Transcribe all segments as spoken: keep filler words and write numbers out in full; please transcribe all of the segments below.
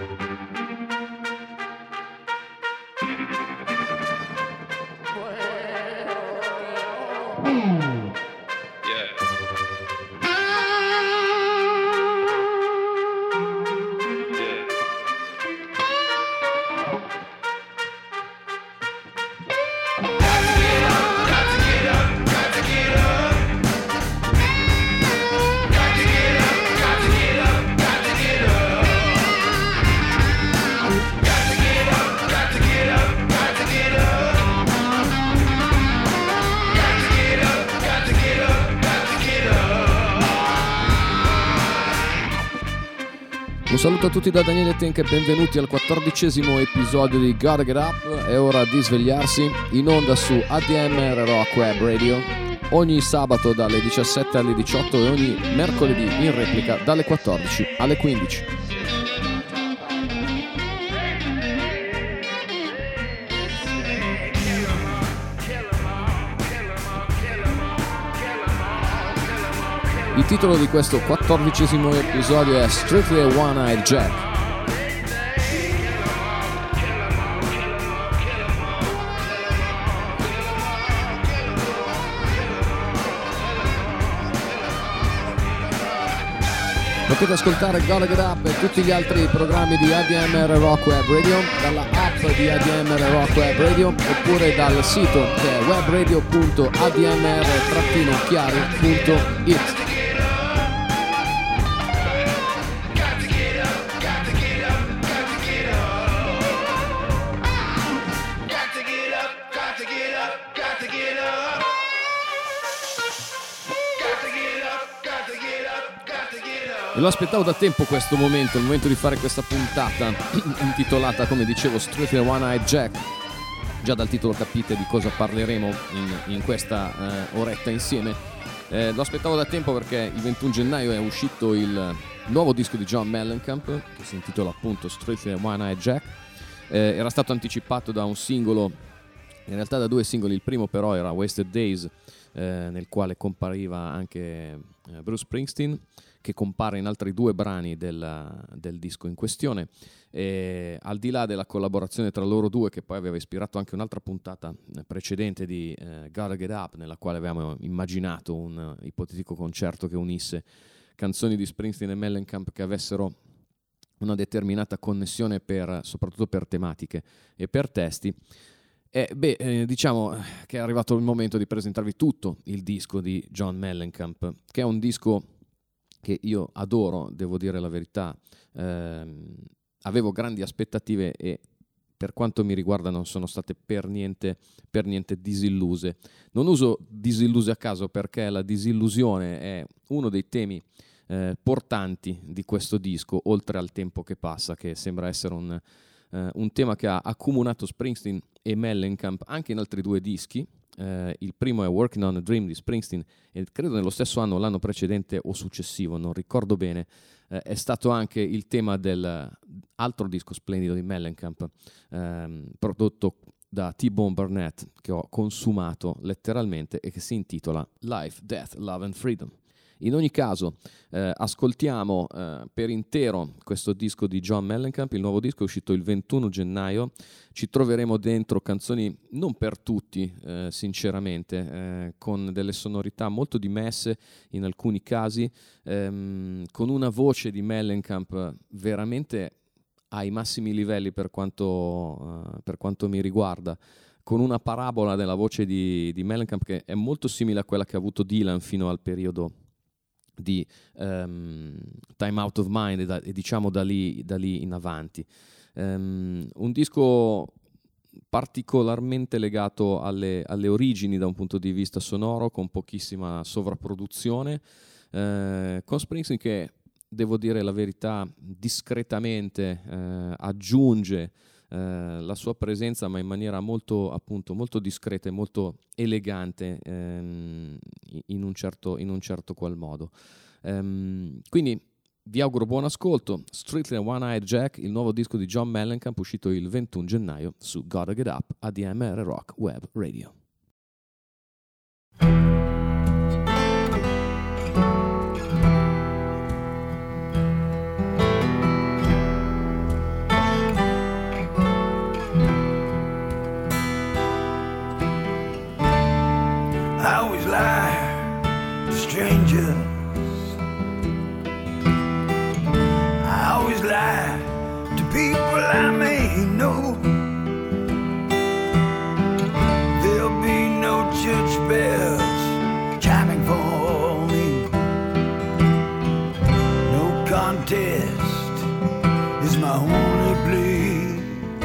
Un saluto a tutti da Daniele Tenk e benvenuti al quattordicesimo episodio di Gotta Get Up. È ora di svegliarsi, in onda su A D M R Rock Web Radio, ogni sabato dalle diciassette alle diciotto e ogni mercoledì in replica dalle quattordici alle quindici. Il titolo di questo quattordicesimo episodio è Strictly a One-Eyed Jack. Potete ascoltare Gotta Get Up e tutti gli altri programmi di A D M R Rock Web Radio dalla app di A D M R Rock Web Radio oppure dal sito che è webradio punto a d m r chiari punto it. E lo aspettavo da tempo questo momento, il momento di fare questa puntata intitolata, come dicevo, Strictly a One-Eyed Jack. Già dal titolo capite di cosa parleremo in, in questa eh, oretta insieme. Eh, lo aspettavo da tempo perché il ventuno gennaio è uscito il nuovo disco di John Mellencamp, che si intitola appunto Strictly a One-Eyed Jack. Eh, era stato anticipato da un singolo, in realtà da due singoli. Il primo però era Wasted Days, eh, nel quale compariva anche eh, Bruce Springsteen, che compare in altri due brani del, del disco in questione. E al di là della collaborazione tra loro due, che poi aveva ispirato anche un'altra puntata precedente di eh, Gotta Get Up, nella quale avevamo immaginato un uh, ipotetico concerto che unisse canzoni di Springsteen e Mellencamp che avessero una determinata connessione per, soprattutto per tematiche e per testi. E beh, eh, diciamo che è arrivato il momento di presentarvi tutto il disco di John Mellencamp, che è un disco che io adoro, devo dire la verità. Eh, avevo grandi aspettative e per quanto mi riguarda non sono state per niente, per niente disilluse. Non uso disilluse a caso perché la disillusione è uno dei temi eh, portanti di questo disco, oltre al tempo che passa, che sembra essere un, eh, un tema che ha accomunato Springsteen e Mellencamp anche in altri due dischi. Uh, il primo è Working on a Dream di Springsteen e credo nello stesso anno, l'anno precedente o successivo, non ricordo bene, uh, è stato anche il tema del altro disco splendido di Mellencamp, um, prodotto da T-Bone Burnett, che ho consumato letteralmente e che si intitola Life, Death, Love and Freedom. In ogni caso, eh, ascoltiamo eh, per intero questo disco di John Mellencamp. Il nuovo disco è uscito il ventuno gennaio. Ci troveremo dentro canzoni non per tutti, eh, sinceramente, eh, con delle sonorità molto dimesse in alcuni casi, ehm, con una voce di Mellencamp veramente ai massimi livelli per quanto, eh, per quanto mi riguarda, con una parabola della voce di, di Mellencamp che è molto simile a quella che ha avuto Dylan fino al periodo di um, Time Out of Mind e, da, e diciamo da lì, da lì in avanti. Um, un disco particolarmente legato alle, alle origini da un punto di vista sonoro, con pochissima sovrapproduzione, eh, con Springsteen che, devo dire la verità, discretamente eh, aggiunge eh, la sua presenza, ma in maniera molto, appunto, molto discreta e molto elegante, ehm, in un certo, in un certo qual modo. Ehm, quindi vi auguro buon ascolto. Strictly a One-Eyed Jack, il nuovo disco di John Mellencamp, uscito il ventuno gennaio su Gotta Get Up, A D M R Rock Web Radio. test is my only plea.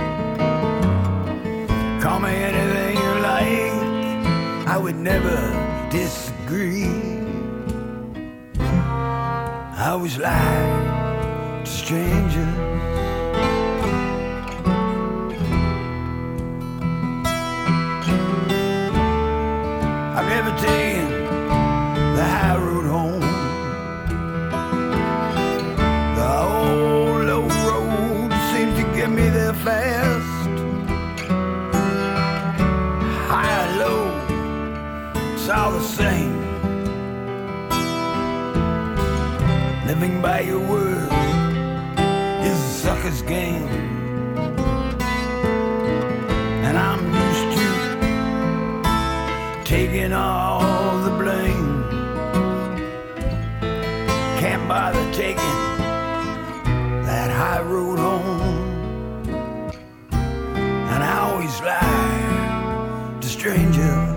Call me anything you like, I would never disagree. I always lie to strangers. I've never taken the high road home. The old low road seems to get me there fast. High or low, it's all the same. Living by your word is a sucker's game. And I'm used to taking all the blame. Can't bother taking that high road home. And I always lie to strangers.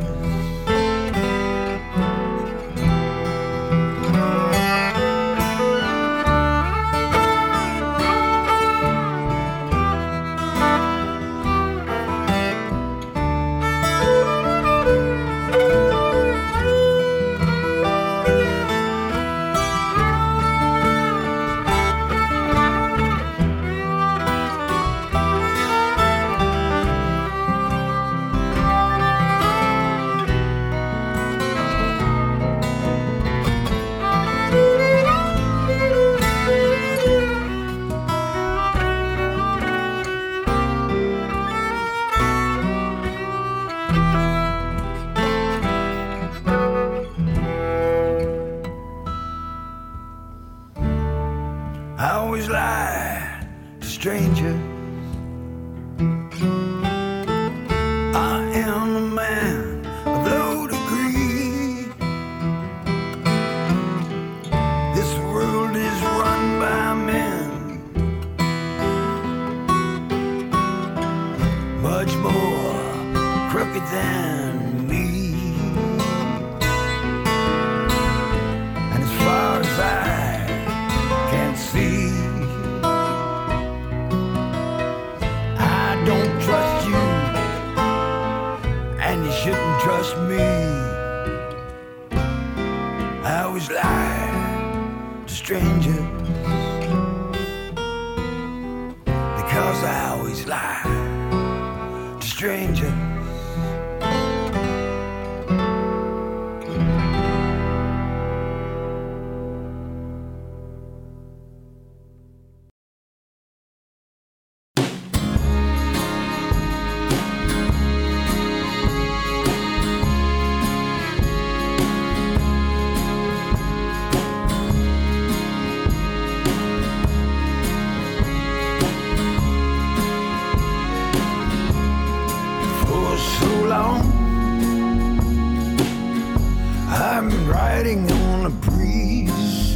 I always lie to strangers. I am a man of low degree. This world is run by men much more crooked than me. And as far as I can see, I don't trust you, and you shouldn't trust me. I always lie to strangers, because I always lie to strangers. I'm riding on a breeze,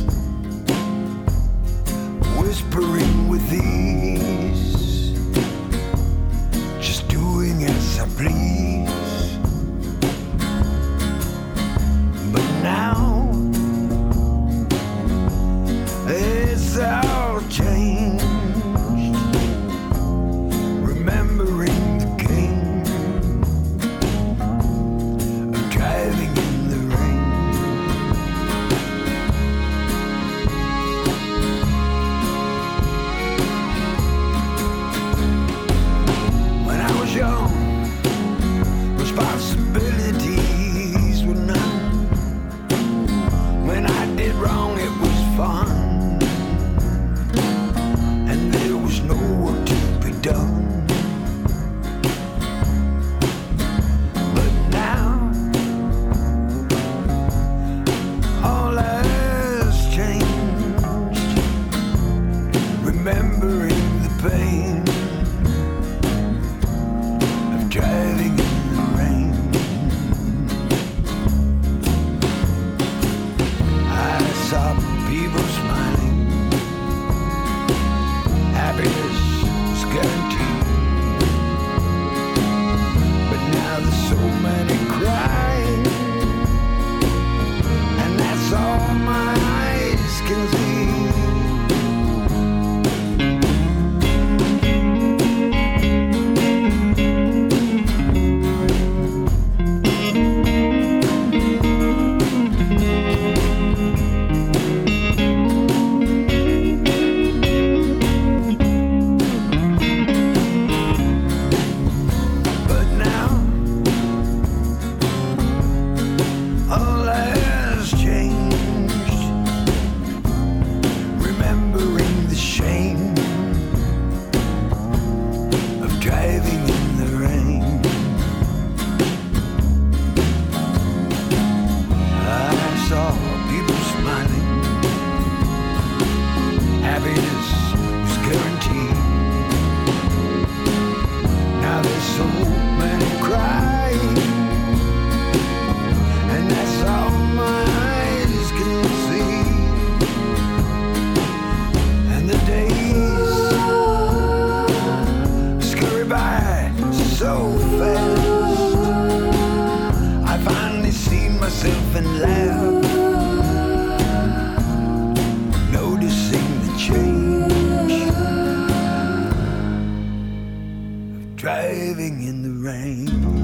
whispering with ease, just doing as I please. But now it's all changed, remembering the game of driving in the rain. When I was young, responsibilities were none. When I did wrong, it was fun, and there was no work to be done. But now all has changed, remembering the pain of driving in the rain. I saw people smiling, happiness was guaranteed. But now there's so many crying, and that's all my eyes can see. driving in the rain.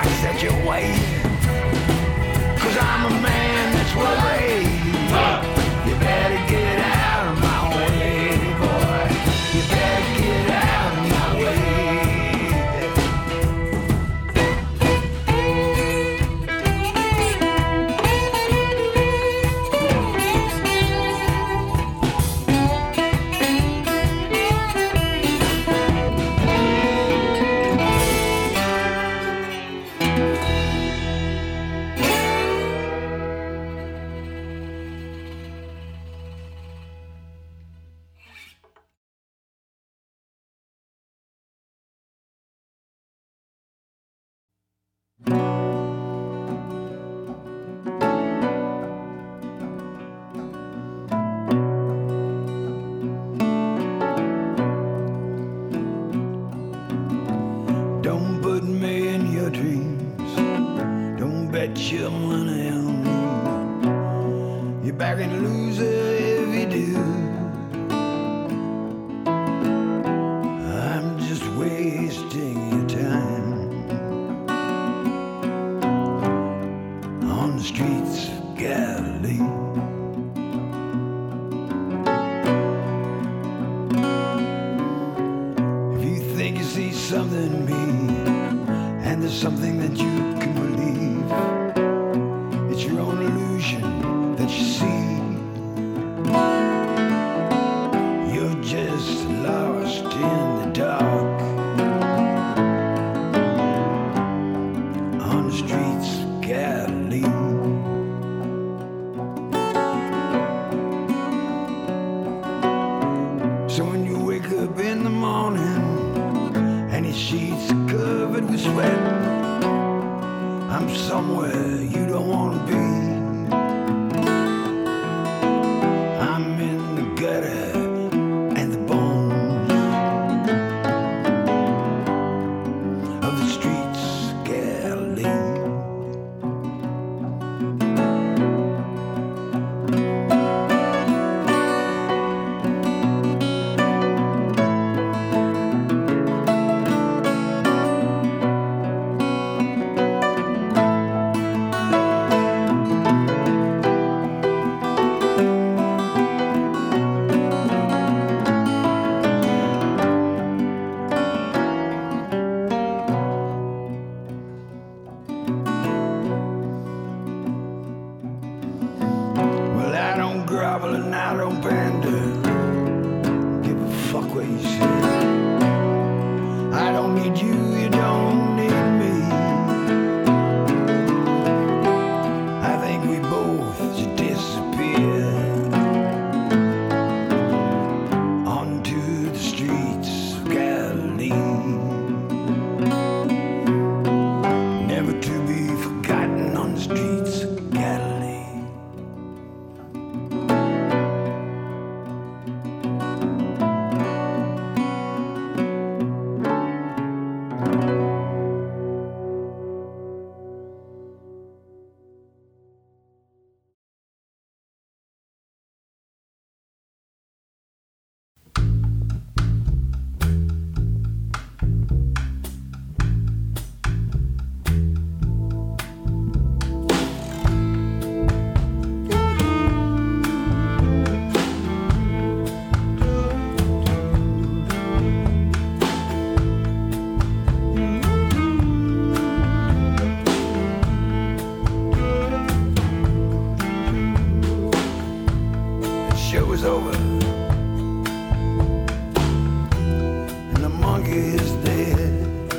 Cause I'm a man that's worried. You're back in loser if you do. I'm just wasting your time on the streets of Galilee. If you think you see something in me, and there's something that you can believe, it's your own illusion that you see. You're just lost in the dark on the streets of Galilee. So when you wake up in the morning and your sheets are covered with sweat, I'm somewhere you don't want to be. I'm in the gutter and the bones of the streets of Galilee. Well, I don't grovel and I don't pander. Give a fuck what you say. I don't need you, you don't need me. I think we both should disappear onto the streets of Galilee, never to be forgotten on the streets of Galilee. The show is over and the monkey is dead.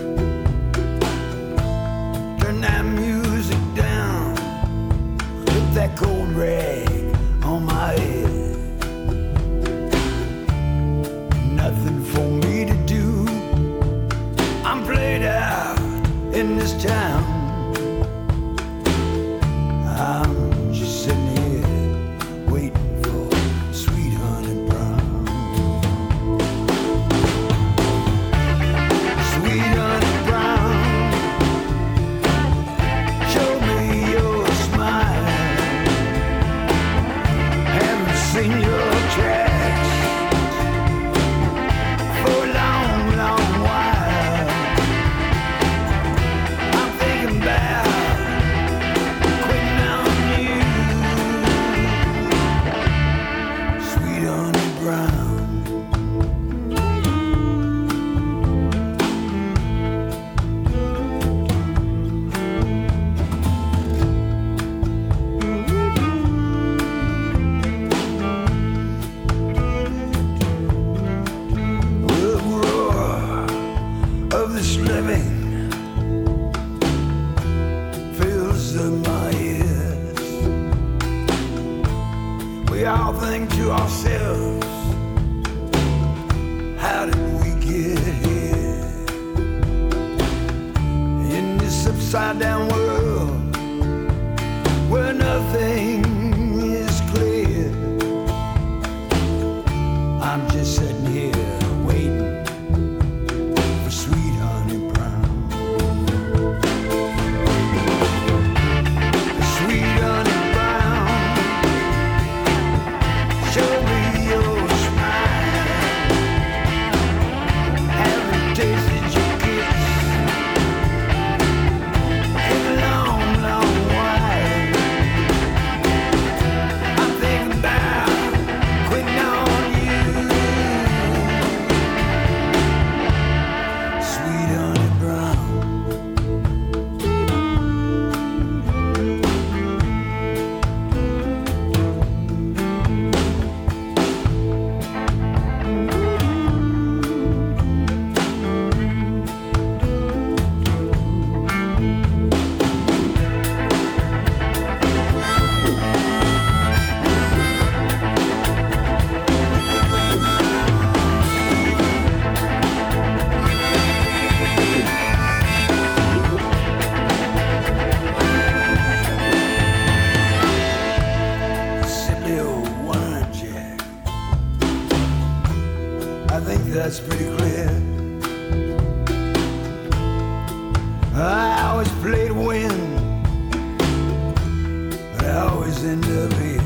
Turn that music down, put that cold rag on my head. Nothing for me to do, I'm played out in this town. I'm just sitting here waiting for sweet honey brown. Sweet honey brown, show me your smile. Haven't seen your tracks for a long, long while. I'm thinking about quitting on you, sweet honey brown. The roar of this living fills up my ears. We all think to ourselves, how did we get here? In this upside down world where nothing is clear, I'm just sitting here waiting for sweet honey brown. Sweet honey brown, that's pretty clear. I always play to win, but I always end up here.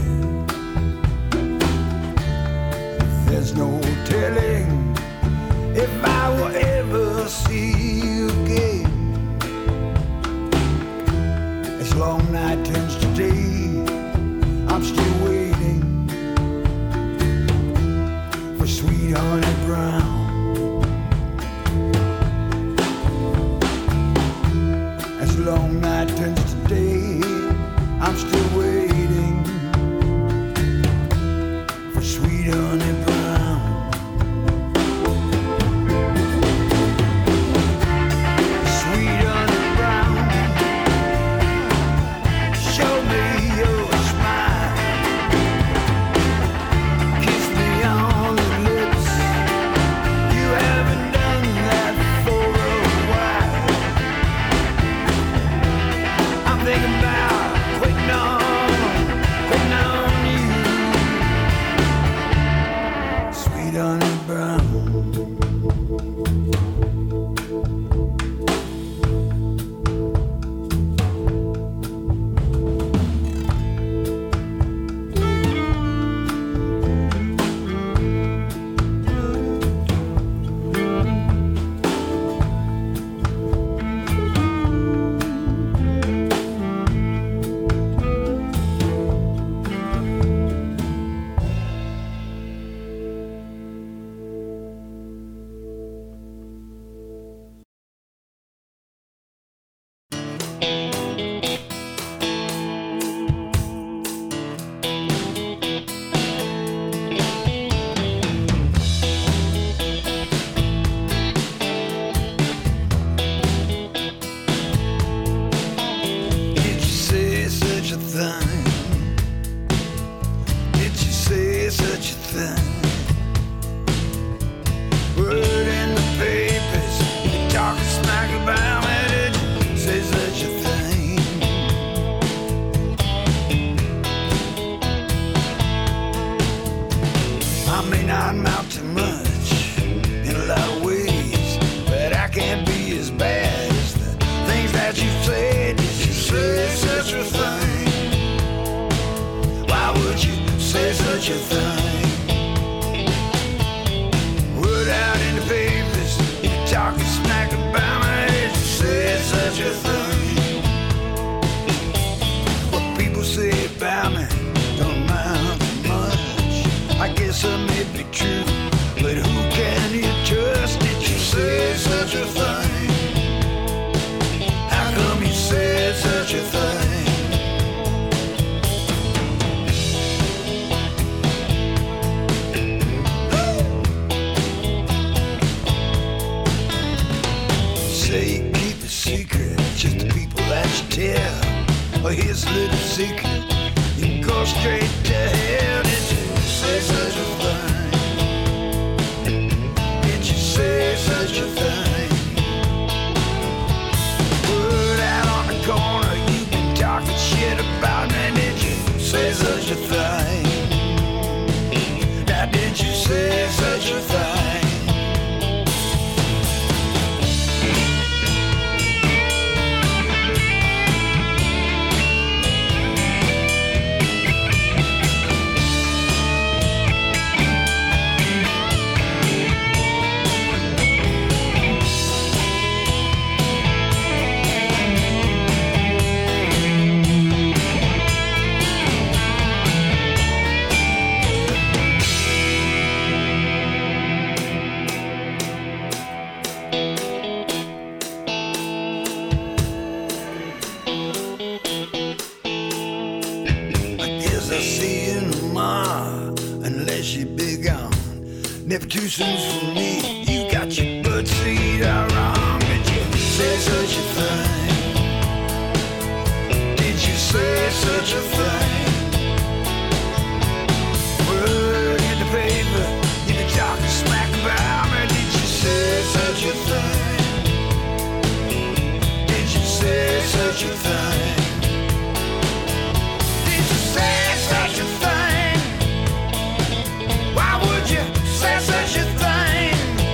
There's no telling if I will ever see you again. As long night turns to day, I'm still waiting for sweet honey brown. As long night turns to day, I'm still waiting for sweet honey brown. Sweet honey brown, show me your smile. Kiss me on the lips. You haven't done that for a while. I'm thinking about quitting on, quitting on you. Sweet honey brown. Did you say such a thing? Did you say such a thing? Word in the papers, you talking smack about me. Did you say such a thing? I may not amount to much in a lot of ways, but I can't be as bad as the things that you said. Did you say such a thing? Why would you say such a thing? Word out in the papers, you're talking smack about me. Did you say such a thing? What people say about me don't amount to much. I guess it may be true, but who can you trust? Did you say such a thing? How come you said such a thing? Say you keep a secret, just the people that you tell. Well, here's a little secret, you can go straight to hell. Did you say such a thing? Did you say such a thing? Word out on the corner, you've been talking shit about me. Did you say such a thing? Now did you say such a thing? I see you tomorrow, unless you're big on. Never too soon for me. You got your butt seat all wrong. Did you say such a thing? Did you say such a thing? Word in the paper, you been talking smack about me. Did you say such a thing? Did you say such a thing? Such a thing. Why would you say such a thing?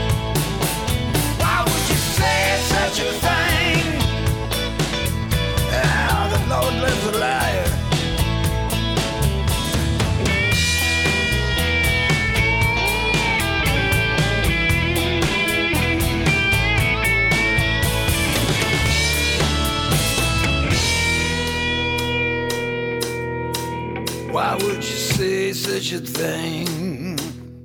you say such a thing?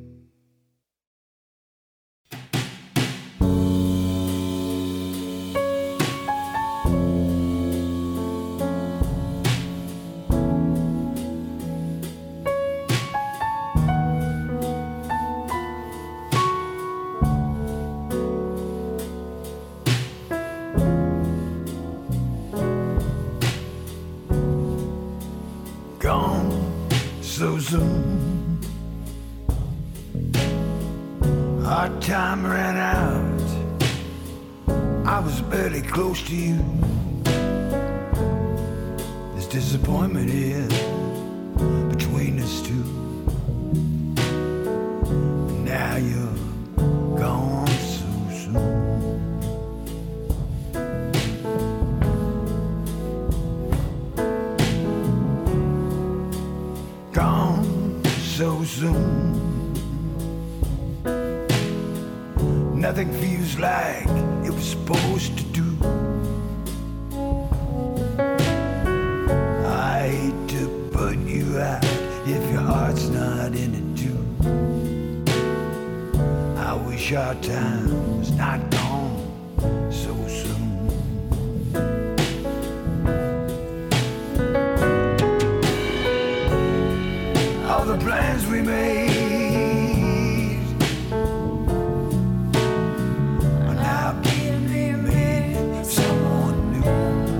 So soon, our time ran out. I was barely close to you. This disappointment is between us two. Now you're gone so soon. So soon, nothing feels like it was supposed to do. I hate to put you out if your heart's not in it too. I wish our time was not gone so soon. All the plans we made are now being remade with someone new.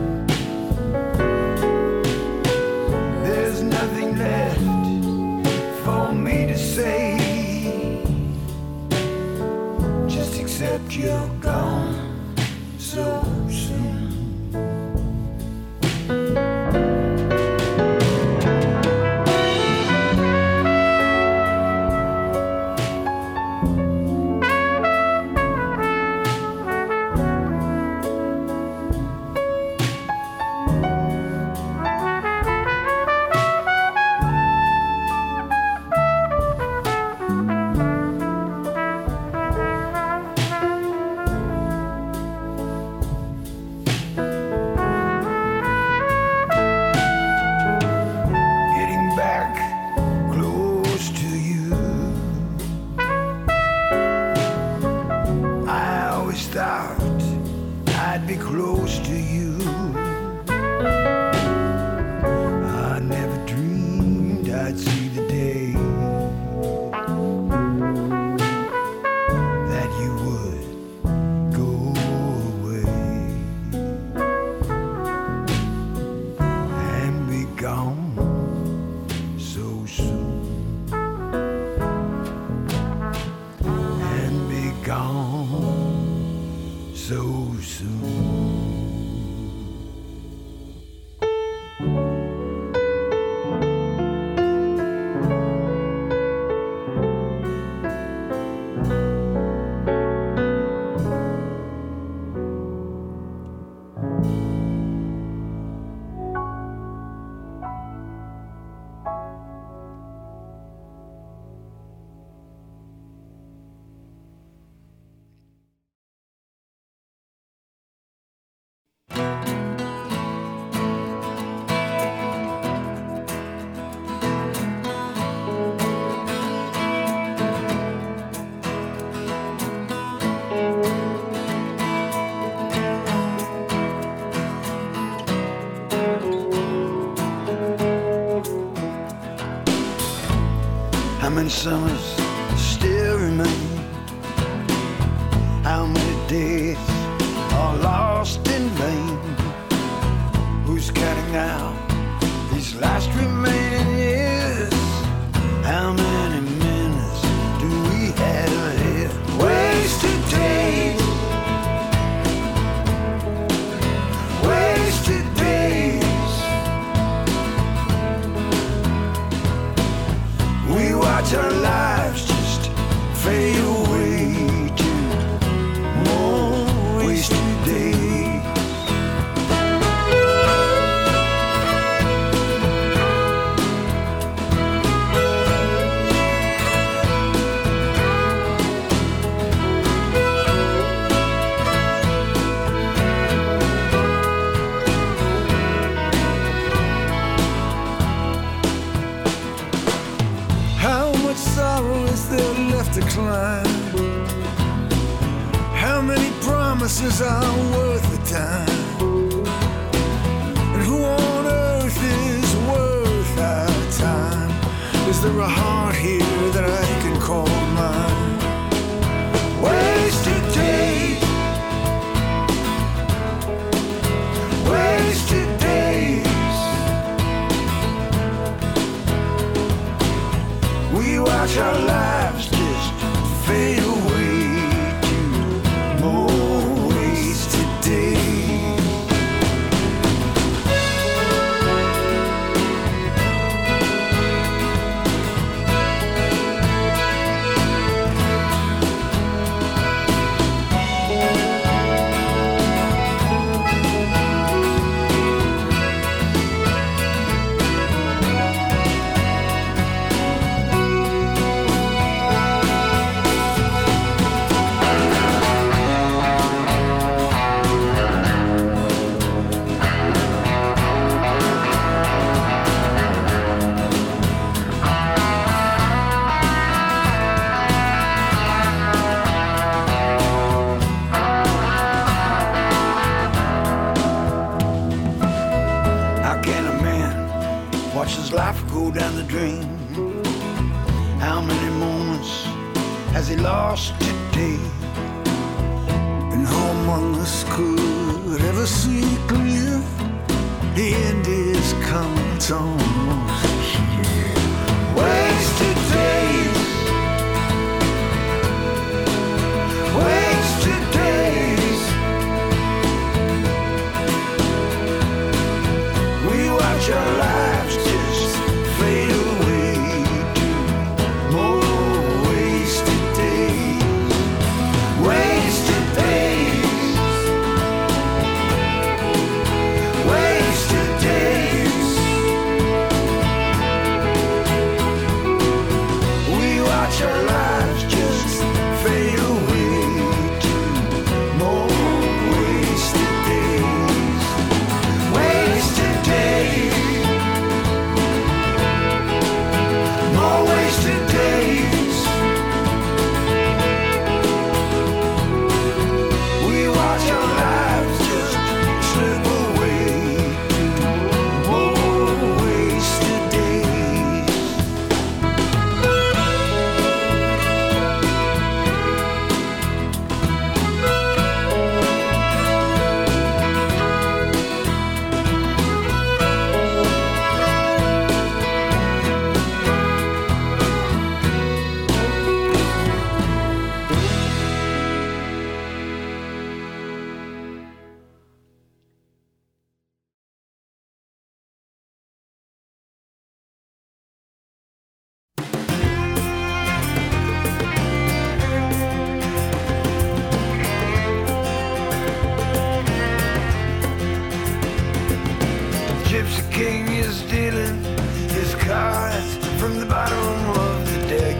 There's nothing left for me to say, just accept you're gone so soon. How many summers still remain? How many days are lost in vain? Who's counting now these last remaining years? How many minutes do we have ahead? Wasted days, wasted days. We watch our lives just fade away to more wasted days. tomorrow is there left to climb? How many promises are worth the time? And who on earth is worth our time? Is there a heart here that I can call mine? Wasted days, wasted days. We watch our lives just fade away to more wasted days. Life go down the drain. How many moments has he lost today? And how among us could ever see clear? The end is coming, it's almost here. Wasted days, wasted days. We watch our lives just fade away to more wasted days, wasted days, wasted days. We watch our lives just fade away to more wasted days, wasted days. More wasted days. We watch our lives just slip away to more wasted days. Gypsy King is dealing his cards from the bottom of the deck.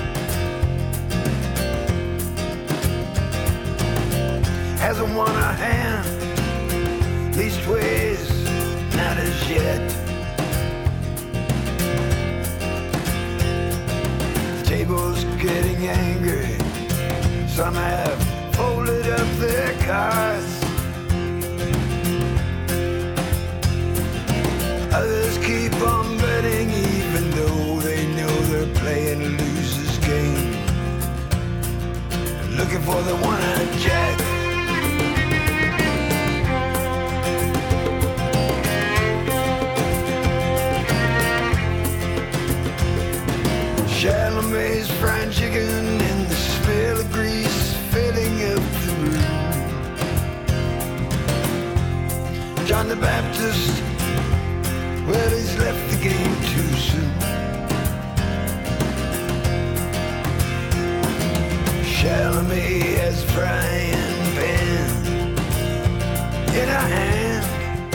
Hasn't won a hand, leastways not as yet. The table's getting angry. Some have folded up their cards. Others keep on betting even though they know they're playing a loser's game. Looking for the one-eyed jack. Chalamet's fried chicken and the smell of grease filling up the room. John the Baptist, well, he's left the game too soon. Chalamet has a frying pan in her hand.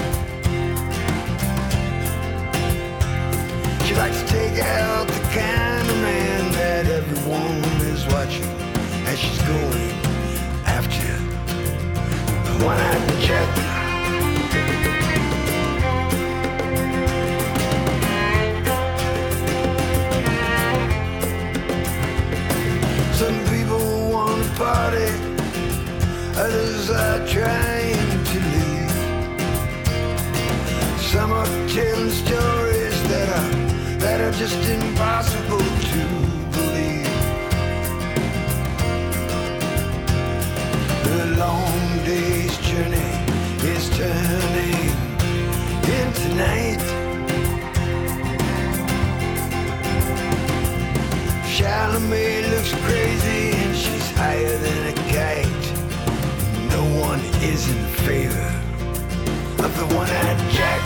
She likes to take out the kind of man that everyone is watching as she's going after the one-eyed jack. just impossible to believe. The long day's journey is turning into night. Chalamet looks crazy and she's higher than a kite. No one is in favor of the one-eyed Jack.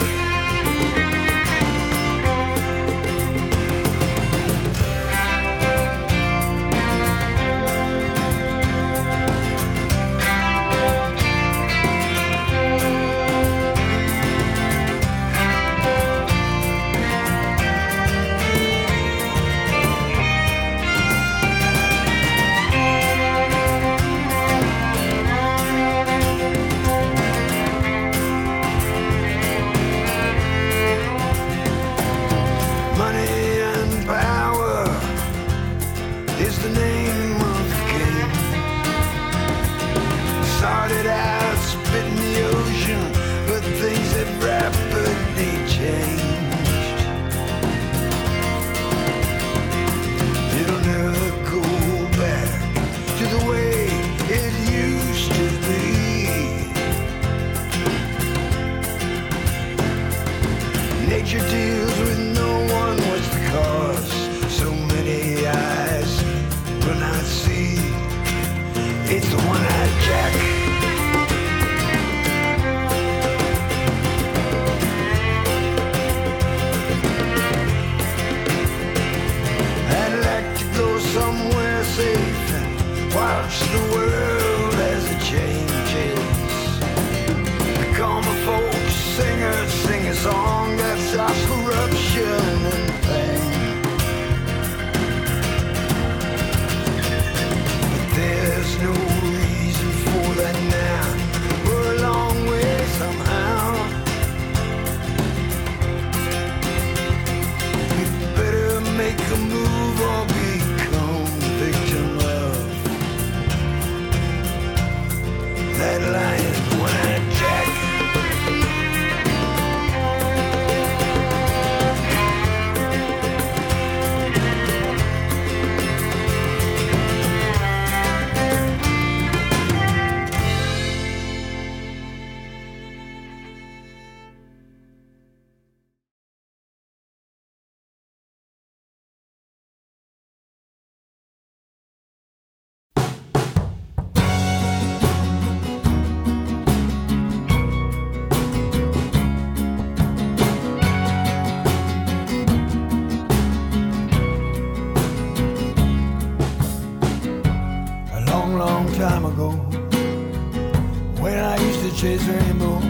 Chase rainbows.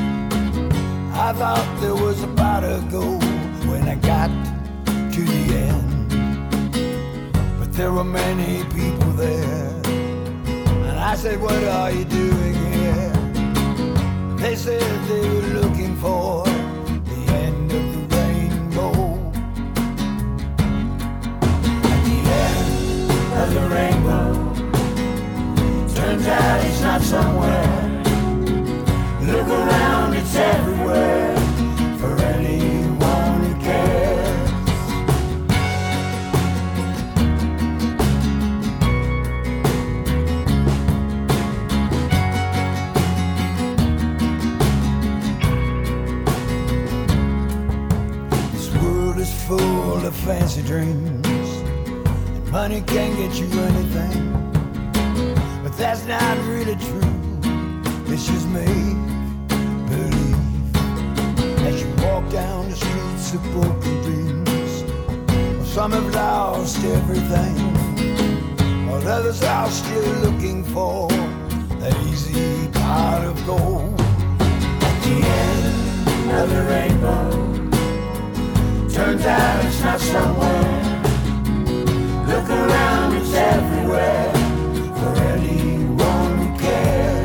I thought there was a pot of gold when I got to the end, but there were many people there, and I said, what are you doing here? They said they were looking for the end of the rainbow. At the end of the rainbow, turns out it's not somewhere. Look around, it's everywhere, for anyone who cares. This world is full of fancy dreams, and money can't get you anything, but that's not really true. It's just me. As you walk down the streets of broken dreams, well, some have lost everything, while others are still looking for that easy pot of gold. At the end of the rainbow, turns out it's not somewhere. Look around, it's everywhere, for anyone who cares.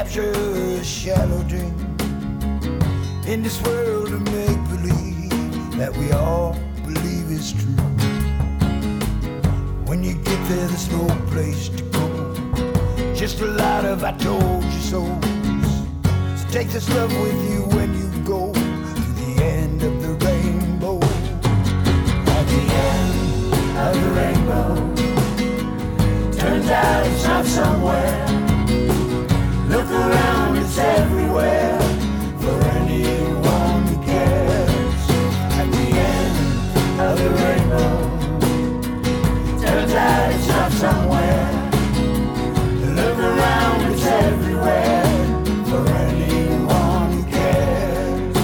capture a shallow dream in this world of make-believe that we all believe is true. When you get there, there's no place to go, just a lot of I told you so's. So take this love with you when you go to the end of the rainbow. At the end of the rainbow, turns out it's not somewhere. Look around, it's everywhere for anyone who cares. At the end of the rainbow, turns out it's not somewhere. Look around, it's everywhere for anyone who cares.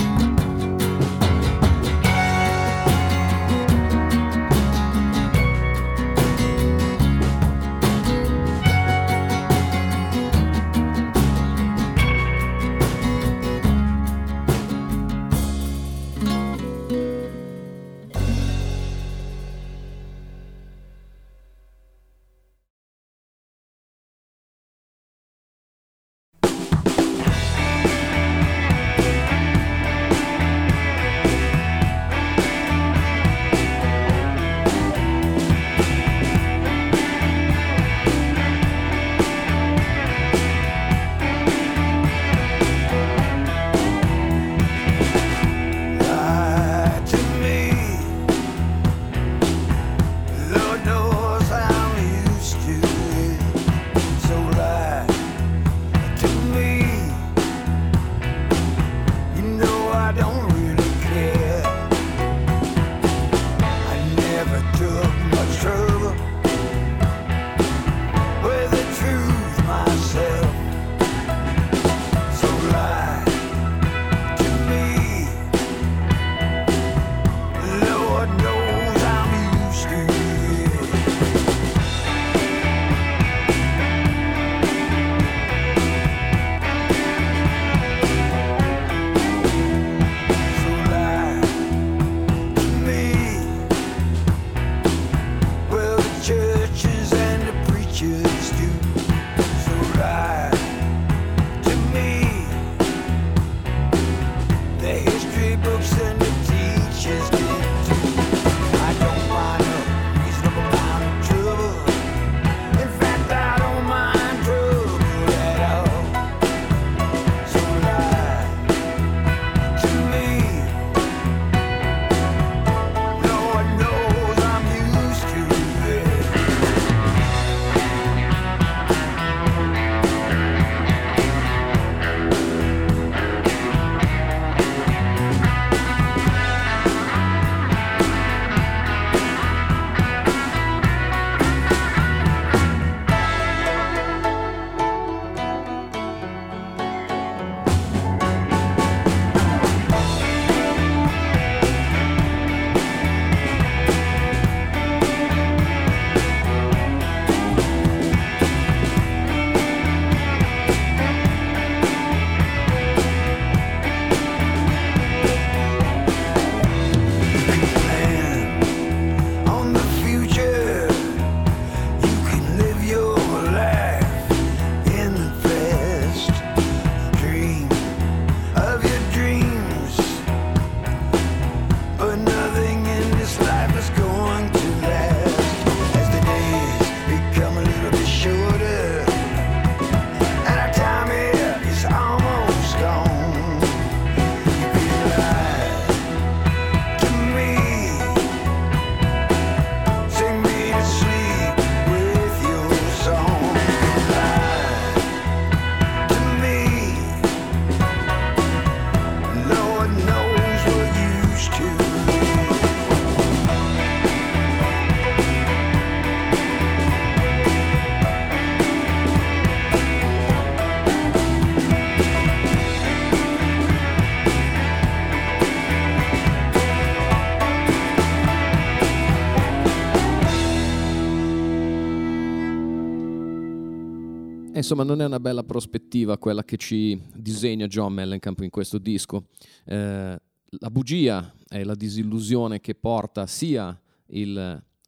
Insomma, non è una bella prospettiva quella che ci disegna John Mellencamp in questo disco. Eh, la bugia è la disillusione che porta sia il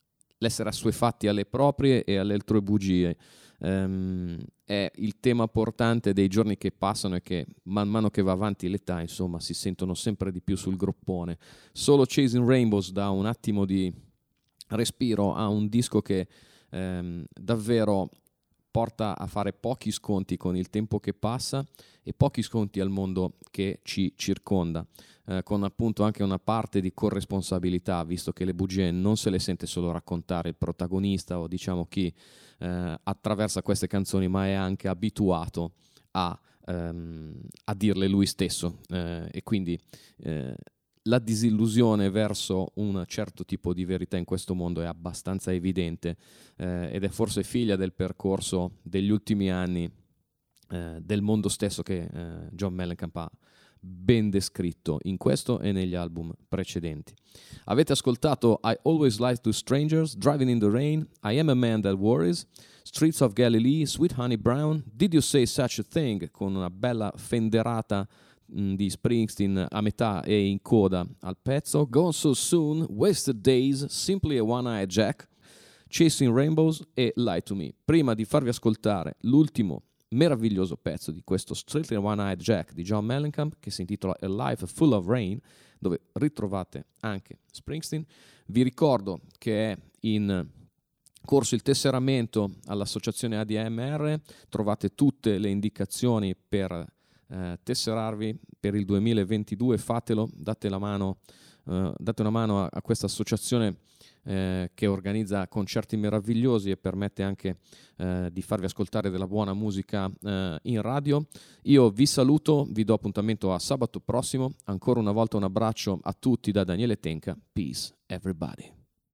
l'essere assuefatti alle proprie e alle altrui bugie. Um, è il tema portante dei giorni che passano e che man mano che va avanti l'età, insomma, si sentono sempre di più sul groppone. Solo Chasing Rainbows dà un attimo di respiro a un disco che um, davvero porta a fare pochi sconti con il tempo che passa e pochi sconti al mondo che ci circonda, eh, con appunto anche una parte di corresponsabilità, visto che le bugie non se le sente solo raccontare il protagonista o diciamo chi eh, attraversa queste canzoni, ma è anche abituato a, ehm, a dirle lui stesso, eh, e quindi eh, la disillusione verso un certo tipo di verità in questo mondo è abbastanza evidente, eh, ed è forse figlia del percorso degli ultimi anni, eh, del mondo stesso che eh, John Mellencamp ha ben descritto in questo e negli album precedenti. Avete ascoltato I Always Lie to Strangers, Driving in the Rain, I Am a Man That Worries, Streets of Galilee, Sweet Honey Brown, Did You Say Such a Thing, con una bella fenderata di Springsteen a metà e in coda al pezzo, Gone So Soon, Wasted Days, Simply a One-Eyed Jack, Chasing Rainbows e Lie to Me. Prima di farvi ascoltare l'ultimo meraviglioso pezzo di questo Strictly One-Eyed Jack di John Mellencamp, che si intitola A Life Full of Rain, dove ritrovate anche Springsteen, vi ricordo che è in corso il tesseramento all'associazione A D M R, trovate tutte le indicazioni per Eh, tesserarvi per il duemilaventidue, fatelo, date la mano, eh, date una mano a, a questa associazione eh, che organizza concerti meravigliosi e permette anche eh, di farvi ascoltare della buona musica eh, in radio. Io vi saluto, vi do appuntamento a sabato prossimo. Ancora una volta un abbraccio a tutti da Daniele Tenca. Peace everybody.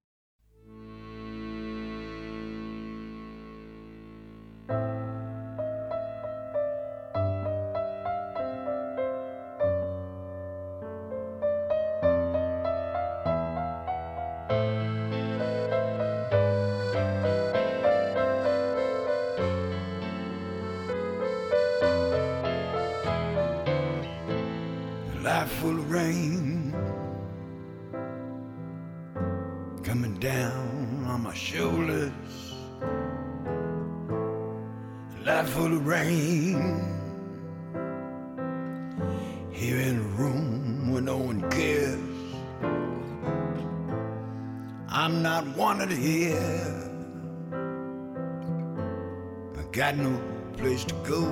Life full of rain coming down on my shoulders. Life full of rain here in a room where no one cares. I'm not wanted here. I got no place to go.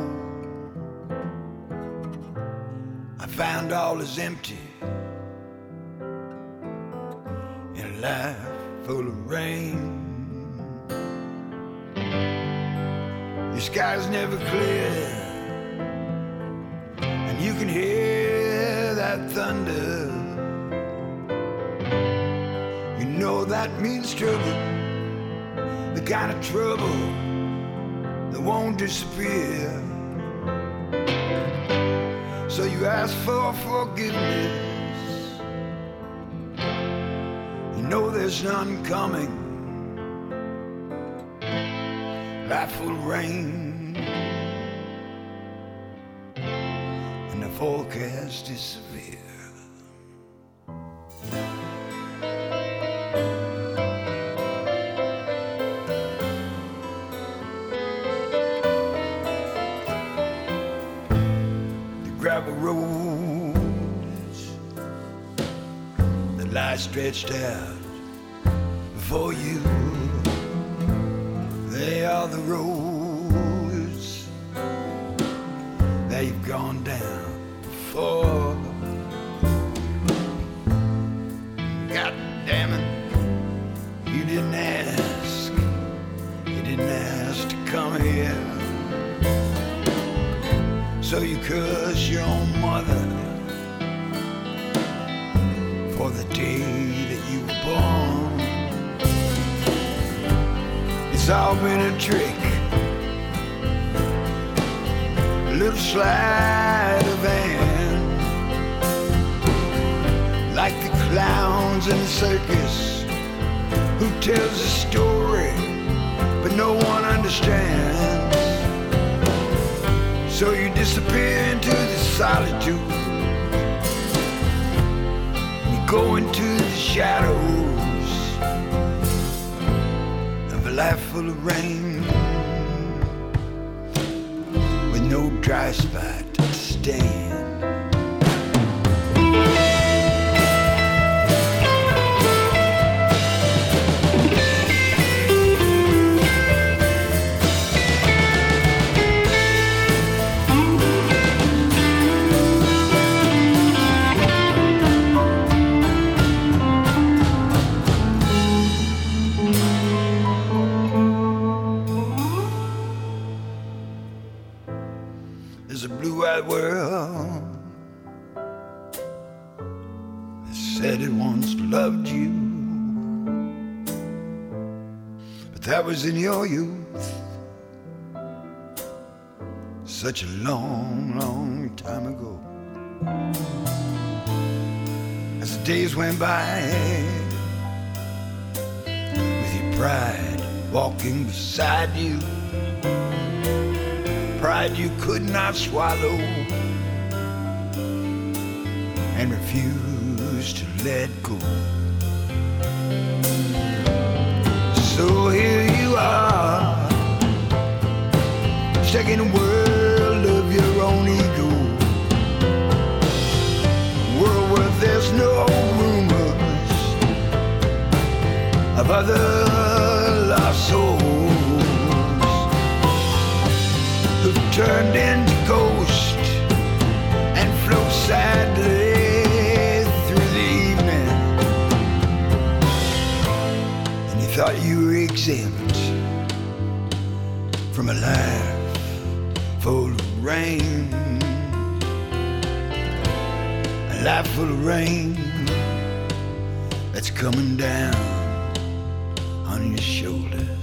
Found all is empty in a life full of rain. Your sky's never clear, and you can hear that thunder. You know that means trouble, the kind of trouble that won't disappear. So you ask for forgiveness, you know there's none coming. Life full of rain, and the forecast is severe. Gravel roads that lie stretched out before you, they are the roads that you've gone down before. God damn it, you didn't ask, you didn't ask to come here. So you curse your own mother for the day that you were born. It's all been a trick, a little sleight of hand, like the clowns in the circus who tells a story but no one understands. So you disappear into the solitude, you go into the shadows, life full of rain, with no dry spot to stand. World that said it once loved you, but that was in your youth, such a long, long time ago. As the days went by, with your pride walking beside you, pride you could not swallow and refused to let go. So here you are, stuck in a world of your own ego, a world where there's no rumors of other lost souls who've turned into ghosts and float sadly through the evening. And you thought you were exempt from a life full of rain, a life full of rain that's coming down on your shoulders.